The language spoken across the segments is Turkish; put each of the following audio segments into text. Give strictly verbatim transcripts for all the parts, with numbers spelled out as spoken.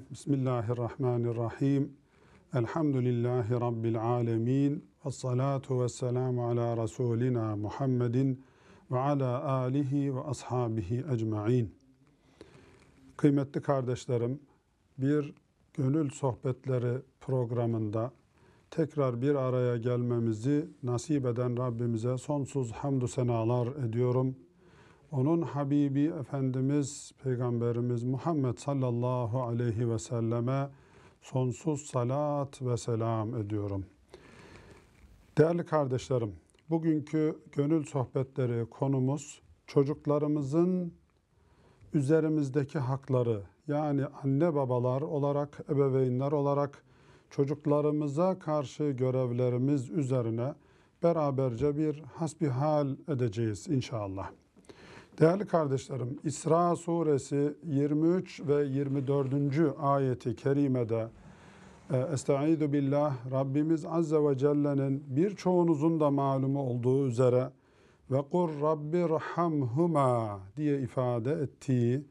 Bismillahirrahmanirrahim. Elhamdülillahi Rabbil alemin. Vessalatu vesselamu ala Resulina Muhammedin ve ala alihi ve ashabihi ecma'in. Kıymetli kardeşlerim, bir gönül sohbetleri programında tekrar bir araya gelmemizi nasip eden Rabbimize sonsuz hamdü senalar ediyorum. Onun Habibi Efendimiz, Peygamberimiz Muhammed sallallahu aleyhi ve selleme sonsuz salat ve selam ediyorum. Değerli kardeşlerim, bugünkü gönül sohbetleri konumuz çocuklarımızın üzerimizdeki hakları, yani anne babalar olarak, ebeveynler olarak çocuklarımıza karşı görevlerimiz üzerine beraberce bir hasbihal edeceğiz inşallah. Değerli kardeşlerim, İsra suresi yirmi üç ve yirmi dördüncü ayeti kerimede Estaizu billah, Rabbimiz Azze ve Celle'nin birçoğunuzun da malumu olduğu üzere ve kur rabbirhamhuma diye ifade ettiği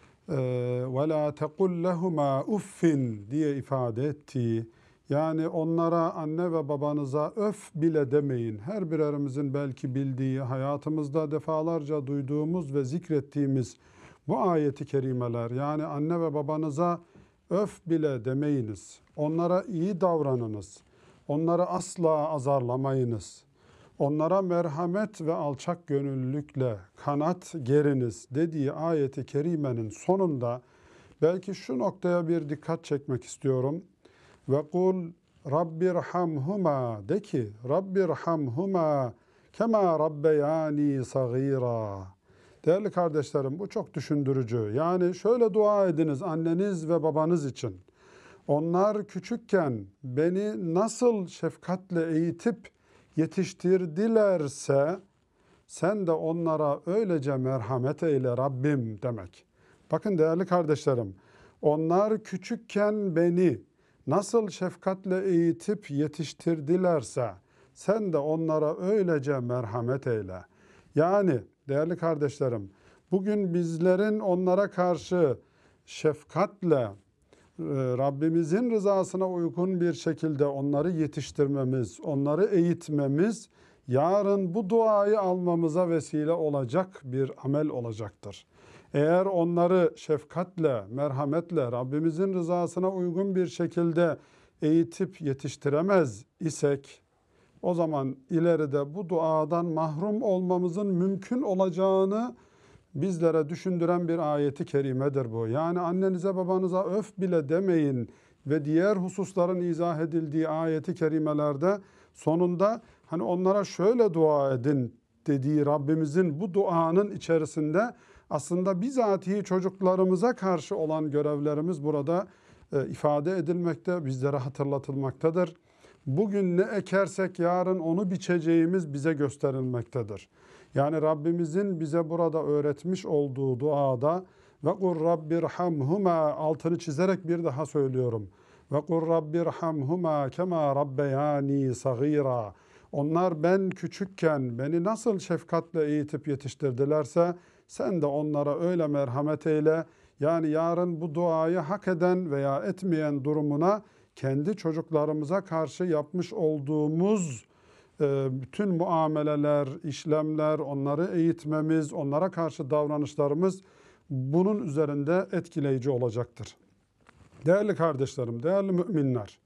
ve la tekul lehuma uffin diye ifade ettiği, yani onlara, anne ve babanıza öf bile demeyin. Her birerimizin belki bildiği, hayatımızda defalarca duyduğumuz ve zikrettiğimiz bu ayeti kerimeler, yani anne ve babanıza öf bile demeyiniz. Onlara iyi davranınız. Onları asla azarlamayınız. Onlara merhamet ve alçak gönüllülükle kanat geriniz dediği ayeti kerimenin sonunda belki şu noktaya bir dikkat çekmek istiyorum. Ve kul rabbirhamhuma, de ki rabbirhamhuma kema rabbeyani sagira. Değerli kardeşlerim, bu çok düşündürücü. Yani şöyle dua ediniz anneniz ve babanız için. Onlar küçükken beni nasıl şefkatle eğitip yetiştirdilerse sen de onlara öylece merhamet eyle Rabbim demek. Bakın değerli kardeşlerim, onlar küçükken beni nasıl şefkatle eğitip yetiştirdilerse sen de onlara öylece merhamet eyle. Yani değerli kardeşlerim, bugün bizlerin onlara karşı şefkatle Rabbimizin rızasına uygun bir şekilde onları yetiştirmemiz, onları eğitmemiz yarın bu duayı almamıza vesile olacak bir amel olacaktır. Eğer onları şefkatle, merhametle, Rabbimizin rızasına uygun bir şekilde eğitip yetiştiremez isek, o zaman ileride bu duadan mahrum olmamızın mümkün olacağını bizlere düşündüren bir ayeti kerimedir bu. Yani annenize babanıza öf bile demeyin ve diğer hususların izah edildiği ayeti kerimelerde sonunda hani onlara şöyle dua edin dediği Rabbimizin bu duanın içerisinde aslında bizatihi çocuklarımıza karşı olan görevlerimiz burada e, ifade edilmekte, bizlere hatırlatılmaktadır. Bugün ne ekersek yarın onu biçeceğimiz bize gösterilmektedir. Yani Rabbimizin bize burada öğretmiş olduğu duada ve kur rabbirhamhuma, altını çizerek bir daha söylüyorum. Ve kur rabbirhamhuma kema rabbeyani sagira. Onlar ben küçükken beni nasıl şefkatle eğitip yetiştirdilerse sen de onlara öyle merhamet eyle. Yani yarın bu duayı hak eden veya etmeyen durumuna kendi çocuklarımıza karşı yapmış olduğumuz bütün muameleler, işlemler, onları eğitmemiz, onlara karşı davranışlarımız bunun üzerinde etkileyici olacaktır. Değerli kardeşlerim, değerli müminler,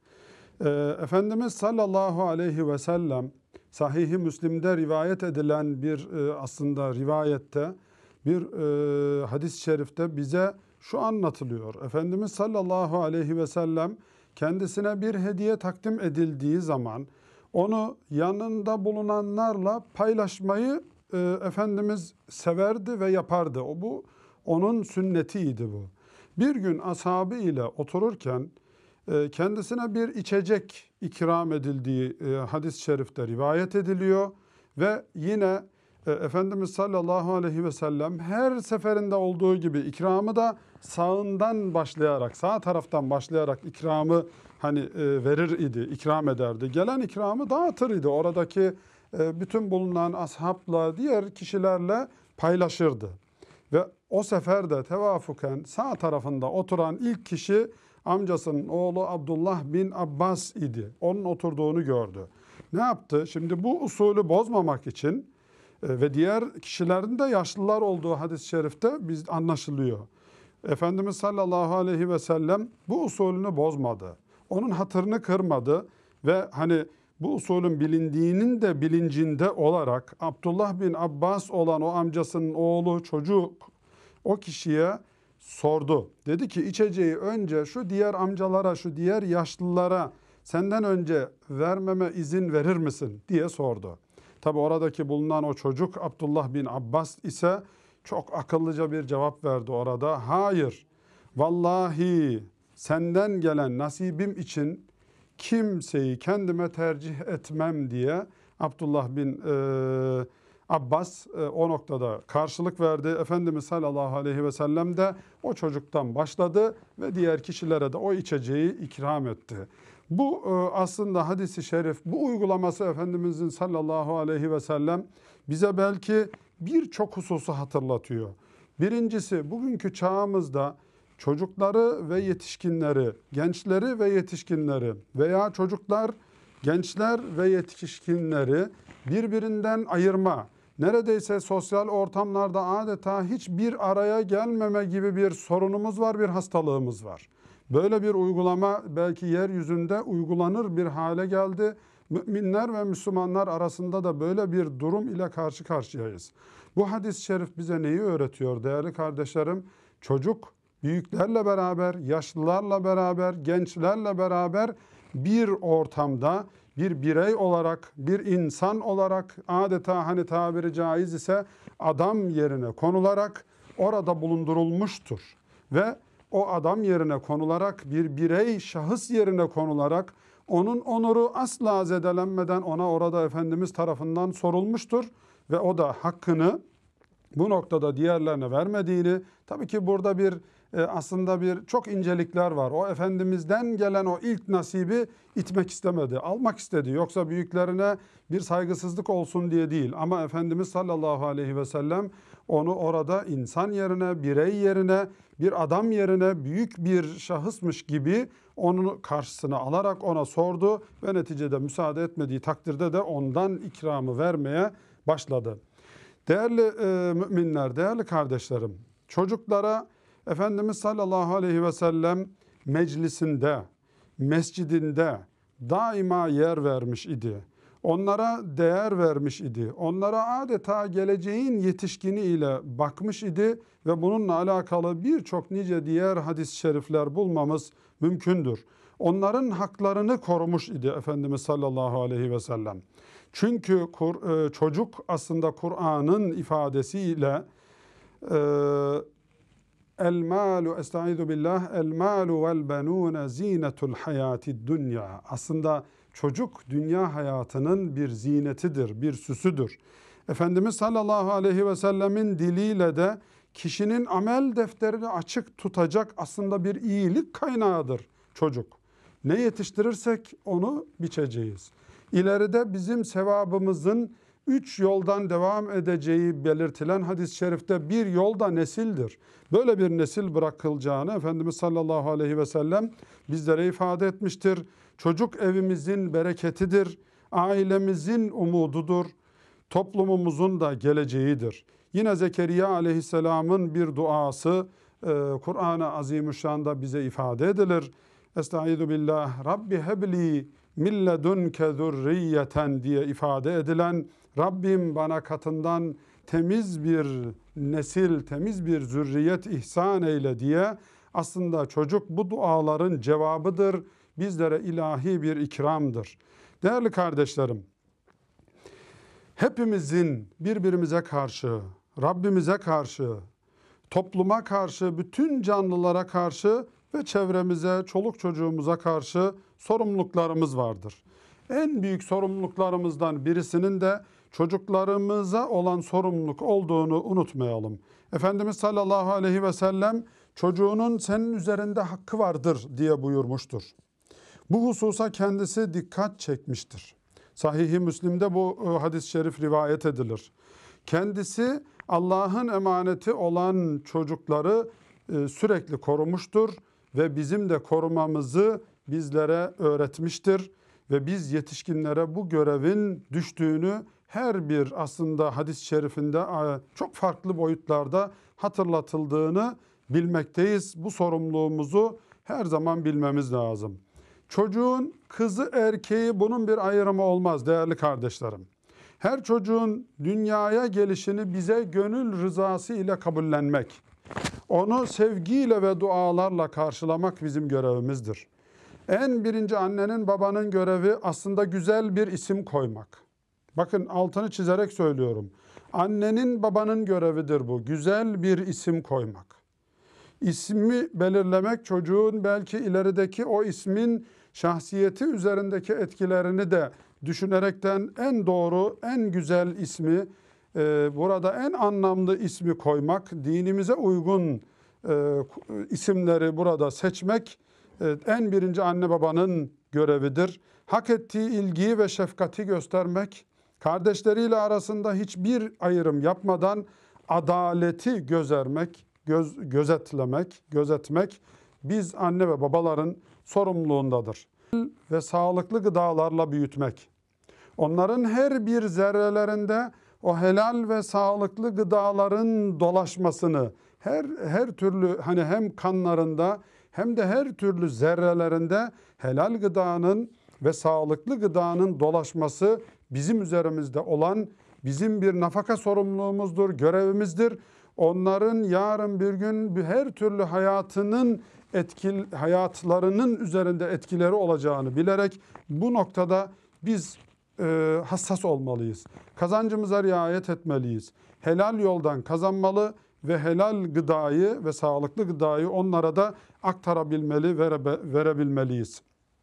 Efendimiz sallallahu aleyhi ve sellem Sahih-i Müslim'de rivayet edilen bir aslında rivayette, bir hadis-i şerifte bize şu anlatılıyor. Efendimiz sallallahu aleyhi ve sellem kendisine bir hediye takdim edildiği zaman onu yanında bulunanlarla paylaşmayı e, Efendimiz severdi ve yapardı. O bu onun sünnetiydi bu. Bir gün ashabı ile otururken e, kendisine bir içecek ikram edildiği e, hadis-i şerifte rivayet ediliyor ve yine e, Efendimiz sallallahu aleyhi ve sellem her seferinde olduğu gibi ikramı da sağından başlayarak, sağ taraftan başlayarak ikramı hani e, verir idi, ikram ederdi. Gelen ikramı dağıtır idi. Oradaki e, bütün bulunan ashabla, diğer kişilerle paylaşırdı. Ve o sefer de tevafuken sağ tarafında oturan ilk kişi amcasının oğlu Abdullah bin Abbas idi. Onun oturduğunu gördü. Ne yaptı? Şimdi bu usulü bozmamak için e, ve diğer kişilerin de yaşlılar olduğu hadis-i şerifte biz anlaşılıyor. Efendimiz sallallahu aleyhi ve sellem bu usulünü bozmadı. Onun hatırını kırmadı ve hani bu usulün bilindiğinin de bilincinde olarak Abdullah bin Abbas olan o amcasının oğlu çocuk o kişiye sordu. Dedi ki içeceği önce şu diğer amcalara, şu diğer yaşlılara senden önce vermeme izin verir misin diye sordu. Tabi oradaki bulunan o çocuk Abdullah bin Abbas ise çok akıllıca bir cevap verdi orada. Hayır, vallahi senden gelen nasibim için kimseyi kendime tercih etmem diye Abdullah bin e, Abbas e, o noktada karşılık verdi. Efendimiz sallallahu aleyhi ve sellem de o çocuktan başladı ve diğer kişilere de o içeceği ikram etti. Bu e, aslında hadis-i şerif, bu uygulaması Efendimizin sallallahu aleyhi ve sellem bize belki birçok hususu hatırlatıyor. Birincisi bugünkü çağımızda çocukları ve yetişkinleri, gençleri ve yetişkinleri veya çocuklar, gençler ve yetişkinleri birbirinden ayırma, neredeyse sosyal ortamlarda adeta hiçbir araya gelmeme gibi bir sorunumuz var, bir hastalığımız var. Böyle bir uygulama belki yeryüzünde uygulanır bir hale geldi. Müminler ve Müslümanlar arasında da böyle bir durum ile karşı karşıyayız. Bu hadis-i şerif bize neyi öğretiyor değerli kardeşlerim? Çocuk büyüklerle beraber, yaşlılarla beraber, gençlerle beraber bir ortamda bir birey olarak, bir insan olarak adeta hani tabiri caiz ise adam yerine konularak orada bulundurulmuştur. Ve o adam yerine konularak bir birey şahıs yerine konularak onun onuru asla zedelenmeden ona orada Efendimiz tarafından sorulmuştur. Ve o da hakkını bu noktada diğerlerine vermediğini, tabii ki burada bir e, aslında bir çok incelikler var. O Efendimiz'den gelen o ilk nasibi itmek istemedi, almak istedi. Yoksa büyüklerine bir saygısızlık olsun diye değil. Ama Efendimiz sallallahu aleyhi ve sellem onu orada insan yerine, birey yerine, bir adam yerine büyük bir şahısmış gibi onun karşısına alarak ona sordu ve neticede müsaade etmediği takdirde de ondan ikramı vermeye başladı. Değerli e, müminler, değerli kardeşlerim, çocuklara Efendimiz sallallahu aleyhi ve sellem meclisinde, mescidinde daima yer vermiş idi. Onlara değer vermiş idi. Onlara adeta geleceğin yetişkini ile bakmış idi ve bununla alakalı birçok nice diğer hadis-i şerifler bulmamız mümkündür. Onların haklarını korumuş idi Efendimiz sallallahu aleyhi ve sellem. Çünkü çocuk aslında Kur'an'ın ifadesiyle el malu estaizu billah el malu vel benun zinetul hayatid dunya. Aslında çocuk dünya hayatının bir zinetidir, bir süsüdür. Efendimiz sallallahu aleyhi ve sellemin diliyle de kişinin amel defterini açık tutacak aslında bir iyilik kaynağıdır çocuk. Ne yetiştirirsek onu biçeceğiz. İleride bizim sevabımızın üç yoldan devam edeceği belirtilen hadis-i şerifte bir yolda nesildir. Böyle bir nesil bırakılacağını Efendimiz sallallahu aleyhi ve sellem bizlere ifade etmiştir. Çocuk evimizin bereketidir, ailemizin umududur, toplumumuzun da geleceğidir. Yine Zekeriya aleyhisselamın bir duası Kur'an-ı Azimüşşan'da bize ifade edilir. Estaizu billah Rabbi hebli min ledunke zurriyeten diye ifade edilen Rabbim bana katından temiz bir nesil, temiz bir zürriyet ihsan eyle diye aslında çocuk bu duaların cevabıdır. Bizlere ilahi bir ikramdır. Değerli kardeşlerim, hepimizin birbirimize karşı, Rabbimize karşı, topluma karşı, bütün canlılara karşı ve çevremize, çoluk çocuğumuza karşı sorumluluklarımız vardır. En büyük sorumluluklarımızdan birisinin de çocuklarımıza olan sorumluluk olduğunu unutmayalım. Efendimiz sallallahu aleyhi ve sellem çocuğunun senin üzerinde hakkı vardır diye buyurmuştur. Bu hususa kendisi dikkat çekmiştir. Sahih-i Müslim'de bu hadis-i şerif rivayet edilir. Kendisi Allah'ın emaneti olan çocukları sürekli korumuştur ve bizim de korumamızı bizlere öğretmiştir. Ve biz yetişkinlere bu görevin düştüğünü her bir aslında hadis-i şerifinde çok farklı boyutlarda hatırlatıldığını bilmekteyiz. Bu sorumluluğumuzu her zaman bilmemiz lazım. Çocuğun kızı erkeği bunun bir ayrımı olmaz değerli kardeşlerim. Her çocuğun dünyaya gelişini bize gönül rızası ile kabullenmek, onu sevgiyle ve dualarla karşılamak bizim görevimizdir. En birinci annenin babanın görevi aslında güzel bir isim koymak. Bakın altını çizerek söylüyorum. Annenin babanın görevidir bu. Güzel bir isim koymak. İsmi belirlemek çocuğun belki ilerideki o ismin şahsiyeti üzerindeki etkilerini de düşünerekten en doğru, en güzel ismi, e, burada en anlamlı ismi koymak, dinimize uygun e, isimleri burada seçmek e, en birinci anne babanın görevidir. Hak ettiği ilgiyi ve şefkati göstermek, kardeşleriyle arasında hiçbir ayrım yapmadan adaleti gözermek, göz, gözetlemek, gözetmek biz anne ve babaların sorumluluğundadır. Ve sağlıklı gıdalarla büyütmek. Onların her bir zerrelerinde o helal ve sağlıklı gıdaların dolaşmasını, her her türlü hani hem kanlarında hem de her türlü zerrelerinde helal gıdanın ve sağlıklı gıdanın dolaşması bizim üzerimizde olan bizim bir nafaka sorumluluğumuzdur, görevimizdir. Onların yarın bir gün her türlü hayatının etkil, hayatlarının üzerinde etkileri olacağını bilerek bu noktada biz e, hassas olmalıyız. Kazancımıza riayet etmeliyiz. Helal yoldan kazanmalı ve helal gıdayı ve sağlıklı gıdayı onlara da aktarabilmeli, vere, verebilmeliyiz.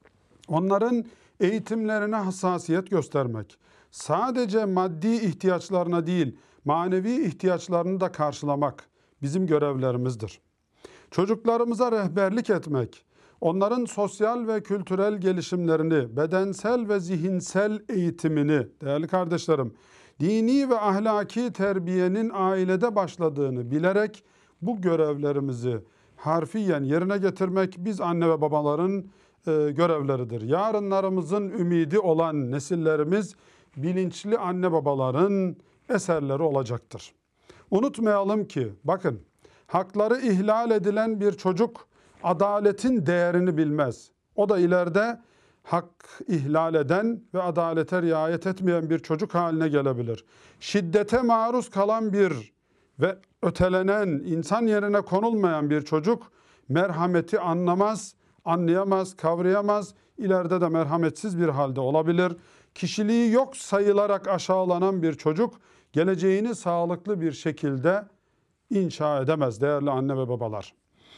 Onların eğitimlerine hassasiyet göstermek, sadece maddi ihtiyaçlarına değil, manevi ihtiyaçlarını da karşılamak bizim görevlerimizdir. Çocuklarımıza rehberlik etmek, onların sosyal ve kültürel gelişimlerini, bedensel ve zihinsel eğitimini, değerli kardeşlerim, dini ve ahlaki terbiyenin ailede başladığını bilerek bu görevlerimizi harfiyen yerine getirmek biz anne ve babaların e, görevleridir. Yarınlarımızın ümidi olan nesillerimiz bilinçli anne babaların eserleri olacaktır. Unutmayalım ki bakın, hakları ihlal edilen bir çocuk adaletin değerini bilmez. O da ileride hak ihlal eden ve adalete riayet etmeyen bir çocuk haline gelebilir. Şiddete maruz kalan bir ve ötelenen, insan yerine konulmayan bir çocuk merhameti anlamaz, anlayamaz, kavrayamaz. İleride de merhametsiz bir halde olabilir. Kişiliği yok sayılarak aşağılanan bir çocuk geleceğini sağlıklı bir şekilde inşa edemez değerli anne ve babalar.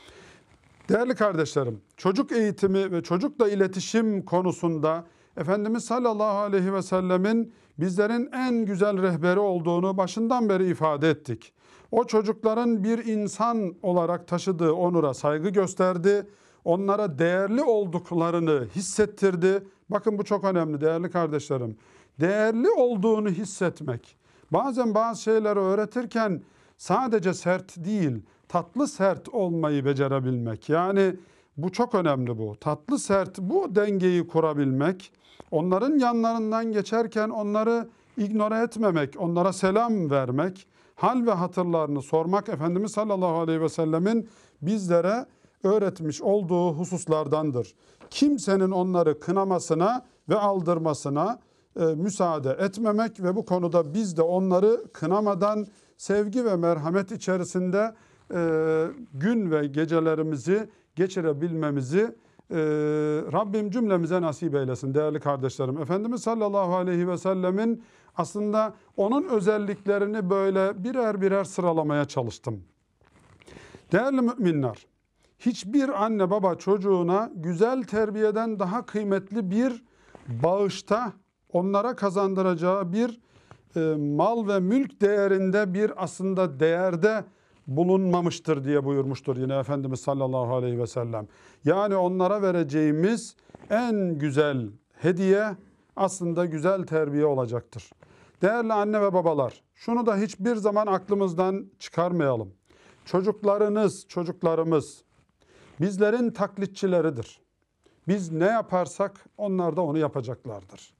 Değerli kardeşlerim, çocuk eğitimi ve çocukla iletişim konusunda Efendimiz sallallahu aleyhi ve sellemin bizlerin en güzel rehberi olduğunu başından beri ifade ettik. O çocukların bir insan olarak taşıdığı onura saygı gösterdi, onlara değerli olduklarını hissettirdi. Bakın bu çok önemli değerli kardeşlerim. Değerli olduğunu hissetmek. Bazen bazı şeyleri öğretirken sadece sert değil, tatlı sert olmayı becerebilmek. Yani bu çok önemli bu. Tatlı sert bu dengeyi kurabilmek. Onların yanlarından geçerken onları ignore etmemek, onlara selam vermek, hal ve hatırlarını sormak Efendimiz sallallahu aleyhi ve sellemin bizlere öğretmiş olduğu hususlardandır. Kimsenin onları kınamasına ve aldırmasına e, müsaade etmemek ve bu konuda biz de onları kınamadan sevgi ve merhamet içerisinde e, gün ve gecelerimizi geçirebilmemizi e, Rabbim cümlemize nasip eylesin değerli kardeşlerim. Efendimiz sallallahu aleyhi ve sellemin aslında onun özelliklerini böyle birer birer sıralamaya çalıştım. Değerli müminler, hiçbir anne baba çocuğuna güzel terbiyeden daha kıymetli bir bağışta onlara kazandıracağı bir e, mal ve mülk değerinde bir aslında değerde bulunmamıştır diye buyurmuştur yine Efendimiz sallallahu aleyhi ve sellem. Yani onlara vereceğimiz en güzel hediye aslında güzel terbiye olacaktır. Değerli anne ve babalar, şunu da hiçbir zaman aklımızdan çıkarmayalım. Çocuklarınız, çocuklarımız bizlerin taklitçileridir. Biz ne yaparsak onlar da onu yapacaklardır.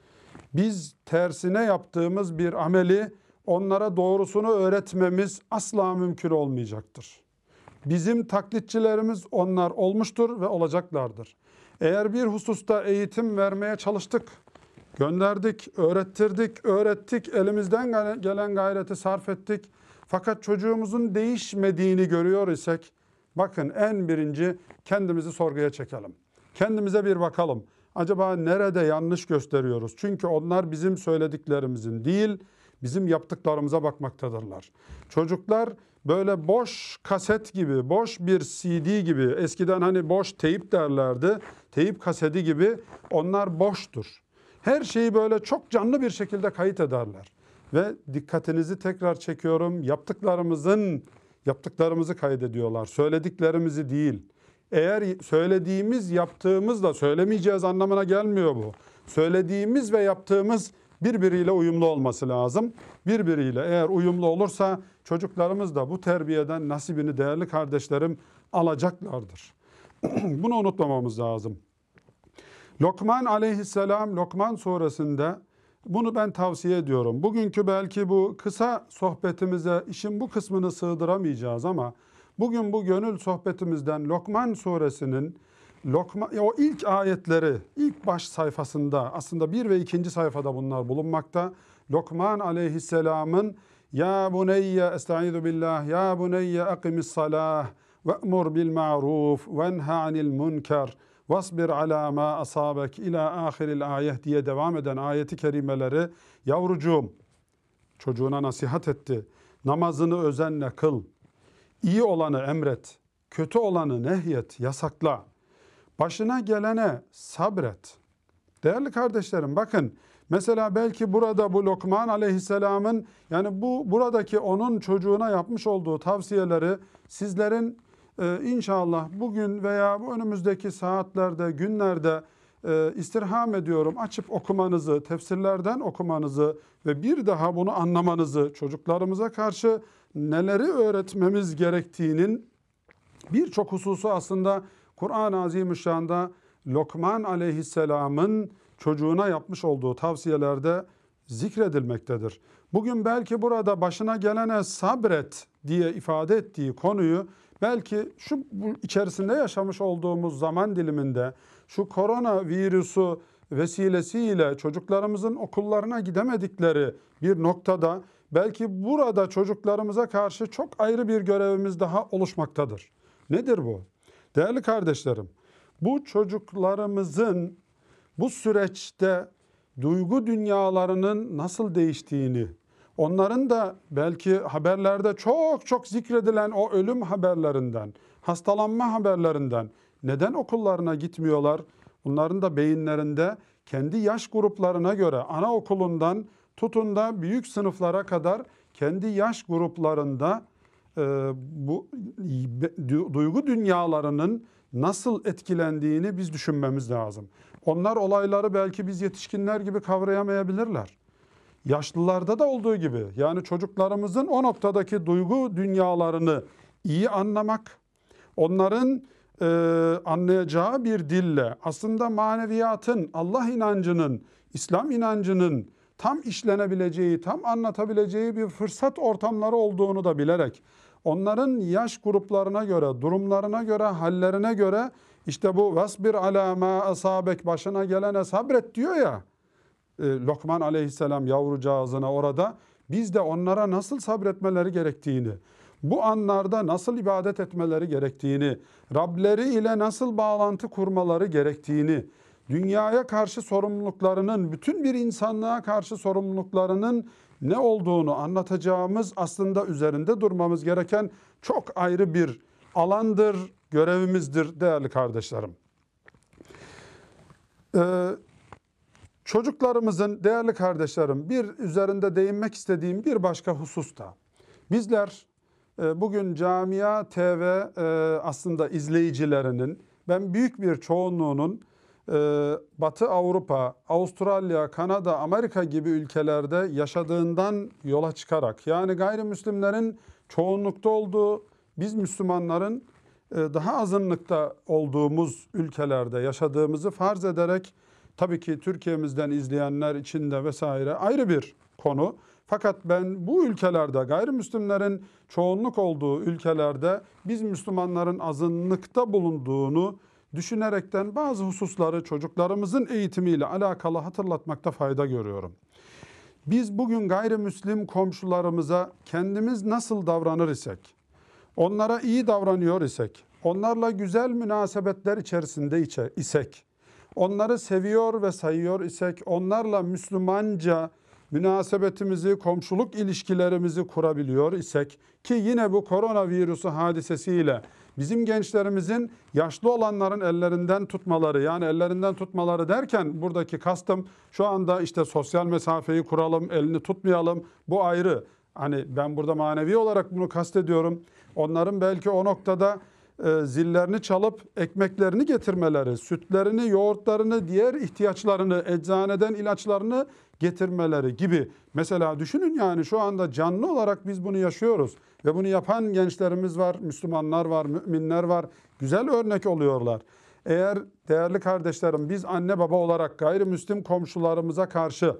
Biz tersine yaptığımız bir ameli onlara doğrusunu öğretmemiz asla mümkün olmayacaktır. Bizim taklitçilerimiz onlar olmuştur ve olacaklardır. Eğer bir hususta eğitim vermeye çalıştık, gönderdik, öğrettirdik, öğrettik, elimizden gelen gayreti sarf ettik. Fakat çocuğumuzun değişmediğini görüyor isek, bakın en birinci kendimizi sorguya çekelim. Kendimize bir bakalım. Acaba nerede yanlış gösteriyoruz? Çünkü onlar bizim söylediklerimizin değil, bizim yaptıklarımıza bakmaktadırlar. Çocuklar böyle boş kaset gibi, boş bir C D gibi, eskiden hani boş teyip derlerdi, teyip kaseti gibi onlar boştur. Her şeyi böyle çok canlı bir şekilde kayıt ederler. Ve dikkatinizi tekrar çekiyorum, yaptıklarımızın, yaptıklarımızı kaydediyorlar, söylediklerimizi değil. Eğer söylediğimiz, yaptığımızla söylemeyeceğiz anlamına gelmiyor bu. Söylediğimiz ve yaptığımız birbiriyle uyumlu olması lazım. Birbiriyle eğer uyumlu olursa çocuklarımız da bu terbiyeden nasibini değerli kardeşlerim alacaklardır. Bunu unutmamamız lazım. Lokman aleyhisselam Lokman suresinde bunu ben tavsiye ediyorum. Bugünkü belki bu kısa sohbetimize işin bu kısmını sığdıramayacağız ama bugün bu gönül sohbetimizden Lokman suresinin Lokman, o ilk ayetleri ilk baş sayfasında aslında bir ve ikinci sayfada bunlar bulunmakta. Lokman aleyhisselamın ya buneyye estaizu billah ya buneyye akimis salah ve'mur bil ma'ruf venha anil münker vasbir ala ma asabek ila ahiril ayet diye devam eden ayeti kerimeleri yavrucuğum çocuğuna nasihat etti. Namazını özenle kıl. İyi olanı emret. Kötü olanı nehyet, yasakla. Başına gelene sabret. Değerli kardeşlerim bakın mesela belki burada bu Lokman aleyhisselamın yani bu buradaki onun çocuğuna yapmış olduğu tavsiyeleri sizlerin e, inşallah bugün veya bu önümüzdeki saatlerde, günlerde e, istirham ediyorum açıp okumanızı, tefsirlerden okumanızı ve bir daha bunu anlamanızı, çocuklarımıza karşı neleri öğretmemiz gerektiğinin birçok hususu aslında Kur'an-ı Azimüşşan'da Lokman aleyhisselamın çocuğuna yapmış olduğu tavsiyelerde zikredilmektedir. Bugün belki burada başına gelene sabret diye ifade ettiği konuyu belki şu bu içerisinde yaşamış olduğumuz zaman diliminde şu korona virüsü vesilesiyle çocuklarımızın okullarına gidemedikleri bir noktada belki burada çocuklarımıza karşı çok ayrı bir görevimiz daha oluşmaktadır. Nedir bu? Değerli kardeşlerim, bu çocuklarımızın bu süreçte duygu dünyalarının nasıl değiştiğini, onların da belki haberlerde çok çok zikredilen o ölüm haberlerinden, hastalanma haberlerinden neden okullarına gitmiyorlar? Bunların da beyinlerinde kendi yaş gruplarına göre anaokulundan tutun da büyük sınıflara kadar kendi yaş gruplarında e, bu duygu dünyalarının nasıl etkilendiğini biz düşünmemiz lazım. Onlar olayları belki biz yetişkinler gibi kavrayamayabilirler. Yaşlılarda da olduğu gibi yani çocuklarımızın o noktadaki duygu dünyalarını iyi anlamak, onların e, anlayacağı bir dille aslında maneviyatın, Allah inancının, İslam inancının tam işlenebileceği, tam anlatabileceği bir fırsat ortamları olduğunu da bilerek onların yaş gruplarına göre, durumlarına göre, hallerine göre işte bu vasbir ala ma asabek başına gelene sabret diyor ya e, Lokman aleyhisselam yavrucağızına orada biz de onlara nasıl sabretmeleri gerektiğini, bu anlarda nasıl ibadet etmeleri gerektiğini, Rableri ile nasıl bağlantı kurmaları gerektiğini, dünyaya karşı sorumluluklarının, bütün bir insanlığa karşı sorumluluklarının ne olduğunu anlatacağımız aslında üzerinde durmamız gereken çok ayrı bir alandır, görevimizdir değerli kardeşlerim. Ee, çocuklarımızın değerli kardeşlerim bir üzerinde değinmek istediğim bir başka hususta bizler e, bugün Camia T V e, aslında izleyicilerinin ben büyük bir çoğunluğunun Batı Avrupa, Avustralya, Kanada, Amerika gibi ülkelerde yaşadığından yola çıkarak yani gayrimüslimlerin çoğunlukta olduğu biz Müslümanların e, daha azınlıkta olduğumuz ülkelerde yaşadığımızı farz ederek, tabii ki Türkiye'mizden izleyenler için de vesaire ayrı bir konu. Fakat ben bu ülkelerde, gayrimüslimlerin çoğunluk olduğu ülkelerde biz Müslümanların azınlıkta bulunduğunu düşünerekten bazı hususları çocuklarımızın eğitimiyle alakalı hatırlatmakta fayda görüyorum. Biz bugün gayrimüslim komşularımıza kendimiz nasıl davranır isek, onlara iyi davranıyor isek, onlarla güzel münasebetler içerisinde isek, onları seviyor ve sayıyor isek, onlarla Müslümanca münasebetimizi, komşuluk ilişkilerimizi kurabiliyor isek, ki yine bu koronavirüsü hadisesiyle bizim gençlerimizin yaşlı olanların ellerinden tutmaları, yani ellerinden tutmaları derken buradaki kastım şu anda işte sosyal mesafeyi kuralım, elini tutmayalım, bu ayrı. Hani ben burada manevi olarak bunu kastediyorum. Onların belki o noktada e, zillerini çalıp ekmeklerini getirmeleri, sütlerini, yoğurtlarını, diğer ihtiyaçlarını, eczaneden ilaçlarını getirmeleri gibi. Mesela düşünün, yani şu anda canlı olarak biz bunu yaşıyoruz ve bunu yapan gençlerimiz var, Müslümanlar var, müminler var. Güzel örnek oluyorlar. Eğer değerli kardeşlerim biz anne baba olarak gayrimüslim komşularımıza karşı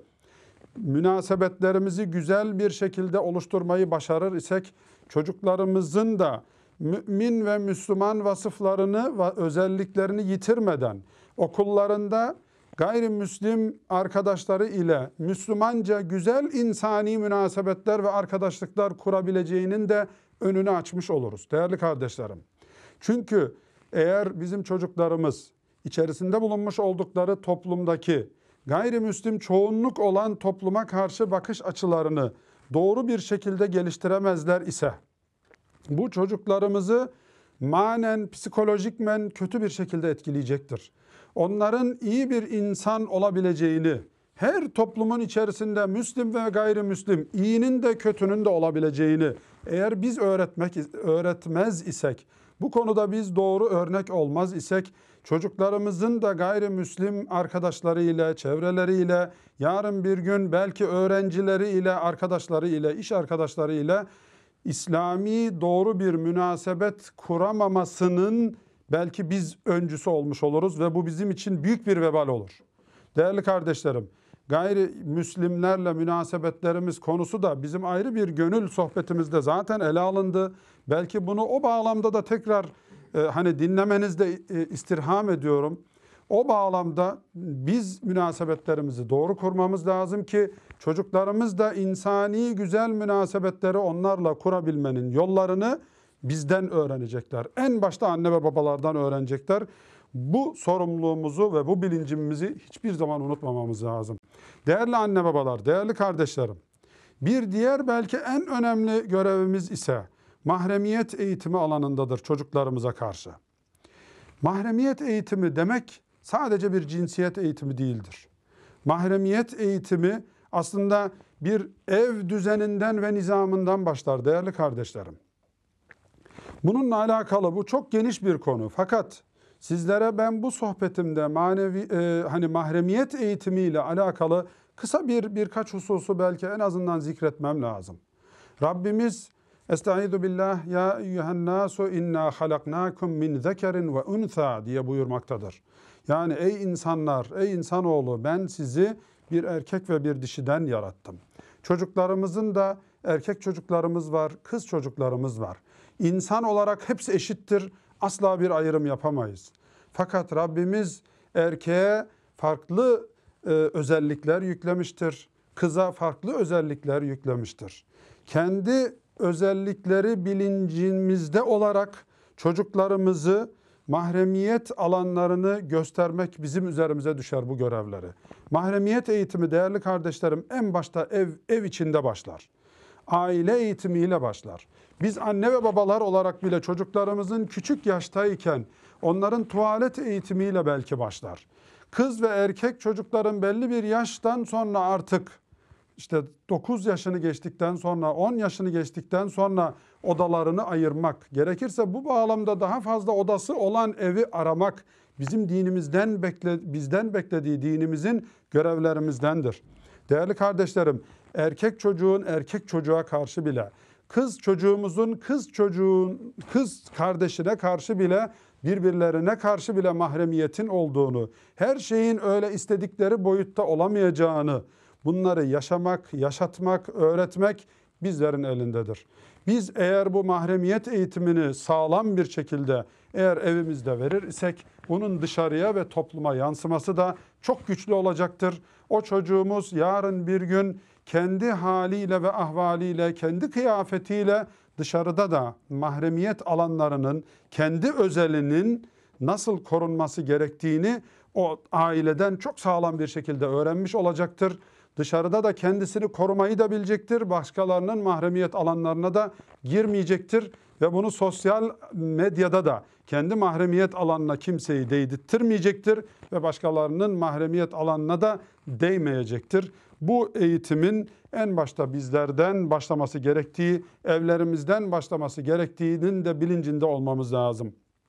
münasebetlerimizi güzel bir şekilde oluşturmayı başarır isek, çocuklarımızın da mümin ve Müslüman vasıflarını ve özelliklerini yitirmeden okullarında gayrimüslim arkadaşları ile Müslümanca güzel insani münasebetler ve arkadaşlıklar kurabileceğinin de önünü açmış oluruz değerli kardeşlerim. Çünkü eğer bizim çocuklarımız içerisinde bulunmuş oldukları toplumdaki gayrimüslim çoğunluk olan topluma karşı bakış açılarını doğru bir şekilde geliştiremezler ise, bu çocuklarımızı manen, psikolojikmen kötü bir şekilde etkileyecektir. Onların iyi bir insan olabileceğini, her toplumun içerisinde Müslim ve gayrimüslim, iyinin de kötünün de olabileceğini eğer biz öğretmek öğretmez isek, bu konuda biz doğru örnek olmaz isek, çocuklarımızın da gayrimüslim arkadaşlarıyla, çevreleriyle, yarın bir gün belki öğrencileriyle, arkadaşlarıyla, iş arkadaşlarıyla İslami doğru bir münasebet kuramamasının belki biz öncüsü olmuş oluruz ve bu bizim için büyük bir vebal olur. Değerli kardeşlerim, gayrimüslimlerle münasebetlerimiz konusu da bizim ayrı bir gönül sohbetimizde zaten ele alındı. Belki bunu o bağlamda da tekrar e, hani dinlemenizde e, istirham ediyorum. O bağlamda biz münasebetlerimizi doğru kurmamız lazım ki çocuklarımız da insani güzel münasebetleri onlarla kurabilmenin yollarını bizden öğrenecekler. En başta anne ve babalardan öğrenecekler. Bu sorumluluğumuzu ve bu bilincimizi hiçbir zaman unutmamamız lazım. Değerli anne babalar, değerli kardeşlerim, bir diğer belki en önemli görevimiz ise mahremiyet eğitimi alanındadır çocuklarımıza karşı. Mahremiyet eğitimi demek sadece bir cinsiyet eğitimi değildir. Mahremiyet eğitimi aslında bir ev düzeninden ve nizamından başlar değerli kardeşlerim. Bununla alakalı bu çok geniş bir konu. Fakat sizlere ben bu sohbetimde manevi e, hani mahremiyet eğitimiyle alakalı kısa bir birkaç hususu belki en azından zikretmem lazım. Rabbimiz Estaizu billah ya eyyühen nasu inna halaknakum min zekerin ve untha diye buyurmaktadır. Yani ey insanlar, ey insanoğlu, ben sizi bir erkek ve bir dişiden yarattım. Çocuklarımızın da erkek çocuklarımız var, kız çocuklarımız var. İnsan olarak hepsi eşittir. Asla bir ayrım yapamayız. Fakat Rabbimiz erkeğe farklı e, özellikler yüklemiştir. Kıza farklı özellikler yüklemiştir. Kendi özellikleri bilincimizde olarak çocuklarımızı mahremiyet alanlarını göstermek bizim üzerimize düşer bu görevleri. Mahremiyet eğitimi değerli kardeşlerim en başta ev ev içinde başlar. Aile eğitimiyle başlar. Biz anne ve babalar olarak bile çocuklarımızın küçük yaştayken onların tuvalet eğitimiyle belki başlar. Kız ve erkek çocukların belli bir yaştan sonra artık işte dokuz yaşını geçtikten sonra, on yaşını geçtikten sonra odalarını ayırmak, gerekirse bu bağlamda daha fazla odası olan evi aramak bizim dinimizden bekle, bizden beklediği dinimizin görevlerimizdendir. Değerli kardeşlerim, erkek çocuğun erkek çocuğa karşı bile, kız çocuğumuzun kız çocuğun kız kardeşine karşı bile birbirlerine karşı bile mahremiyetin olduğunu, her şeyin öyle istedikleri boyutta olamayacağını, bunları yaşamak, yaşatmak, öğretmek bizlerin elindedir. Biz eğer bu mahremiyet eğitimini sağlam bir şekilde eğer evimizde verir isek bunun dışarıya ve topluma yansıması da çok güçlü olacaktır. O çocuğumuz yarın bir gün kendi haliyle ve ahvaliyle, kendi kıyafetiyle dışarıda da mahremiyet alanlarının, kendi özelinin nasıl korunması gerektiğini o aileden çok sağlam bir şekilde öğrenmiş olacaktır. Dışarıda da kendisini korumayı da bilecektir. Başkalarının mahremiyet alanlarına da girmeyecektir. Ve bunu sosyal medyada da kendi mahremiyet alanına kimseyi değdirtmeyecektir. Ve başkalarının mahremiyet alanına da değmeyecektir. Bu eğitimin en başta bizlerden başlaması gerektiği, evlerimizden başlaması gerektiğinin de bilincinde olmamız lazım.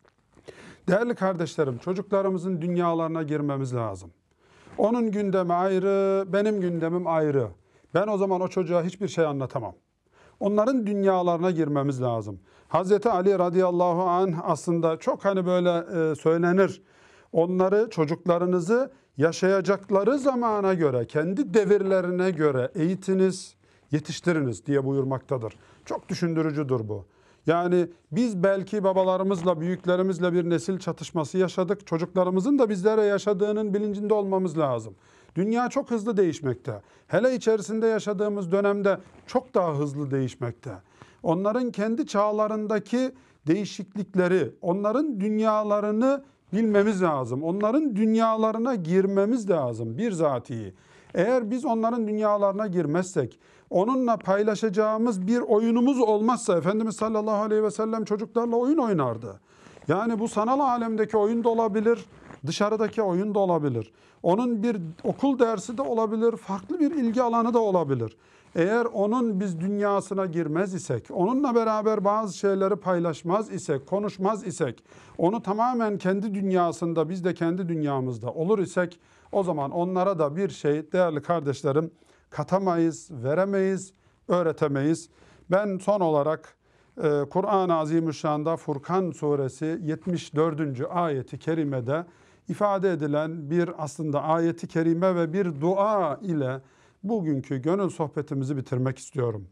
Değerli kardeşlerim, çocuklarımızın dünyalarına girmemiz lazım. Onun gündemi ayrı, benim gündemim ayrı. Ben o zaman o çocuğa hiçbir şey anlatamam. Onların dünyalarına girmemiz lazım. Hazreti Ali radıyallahu anh aslında çok hani böyle e, söylenir. Onları, çocuklarınızı yaşayacakları zamana göre, kendi devirlerine göre eğitiniz, yetiştiriniz diye buyurmaktadır. Çok düşündürücüdür bu. Yani biz belki babalarımızla, büyüklerimizle bir nesil çatışması yaşadık. Çocuklarımızın da bizlere yaşadığının bilincinde olmamız lazım. Dünya çok hızlı değişmekte. Hele içerisinde yaşadığımız dönemde çok daha hızlı değişmekte. Onların kendi çağlarındaki değişiklikleri, onların dünyalarını bilmemiz lazım. Onların dünyalarına girmemiz lazım birzatihi. Eğer biz onların dünyalarına girmezsek, onunla paylaşacağımız bir oyunumuz olmazsa, Efendimiz sallallahu aleyhi ve sellem çocuklarla oyun oynardı. Yani bu sanal alemdeki oyun da olabilir, dışarıdaki oyun da olabilir. Onun bir okul dersi de olabilir, farklı bir ilgi alanı da olabilir. Eğer onun biz dünyasına girmez isek, onunla beraber bazı şeyleri paylaşmaz isek, konuşmaz isek, onu tamamen kendi dünyasında, biz de kendi dünyamızda olur isek, o zaman onlara da bir şey değerli kardeşlerim katamayız, veremeyiz, öğretemeyiz. Ben son olarak e, Kur'an-ı Azimüşşan'da Furkan suresi yetmiş dördüncü ayeti kerimede ifade edilen bir aslında ayeti kerime ve bir dua ile bugünkü gönül sohbetimizi bitirmek istiyorum.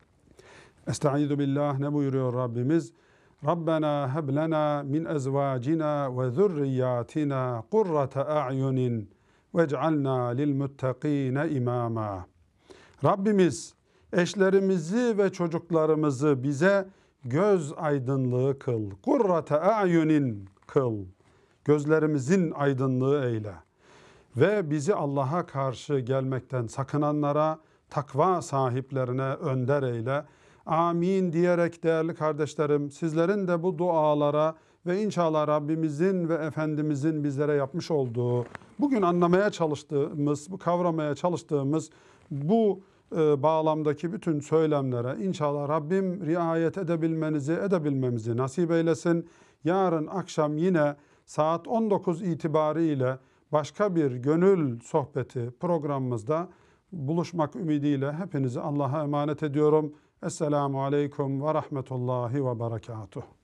Estaizu billah, ne buyuruyor Rabbimiz? Rabbena heb lena min ezvacina ve zurriyatina kurrate a'yunin vec'alna lil muttaqine imama. Rabbimiz eşlerimizi ve çocuklarımızı bize göz aydınlığı kıl. Kurrate a'yunin kıl. Gözlerimizin aydınlığı eyle. Ve bizi Allah'a karşı gelmekten sakınanlara, takva sahiplerine önder eyle. Amin diyerek değerli kardeşlerim, sizlerin de bu dualara ve inşallah Rabbimizin ve Efendimizin bizlere yapmış olduğu, bugün anlamaya çalıştığımız, bu kavramaya çalıştığımız bu e, bağlamdaki bütün söylemlere inşallah Rabbim riayet edebilmenizi, edebilmemizi nasip eylesin. Yarın akşam yine saat on dokuz itibariyle başka bir gönül sohbeti programımızda buluşmak ümidiyle hepinizi Allah'a emanet ediyorum. Esselamu Aleyküm ve Rahmetullahi ve Berekatuhu.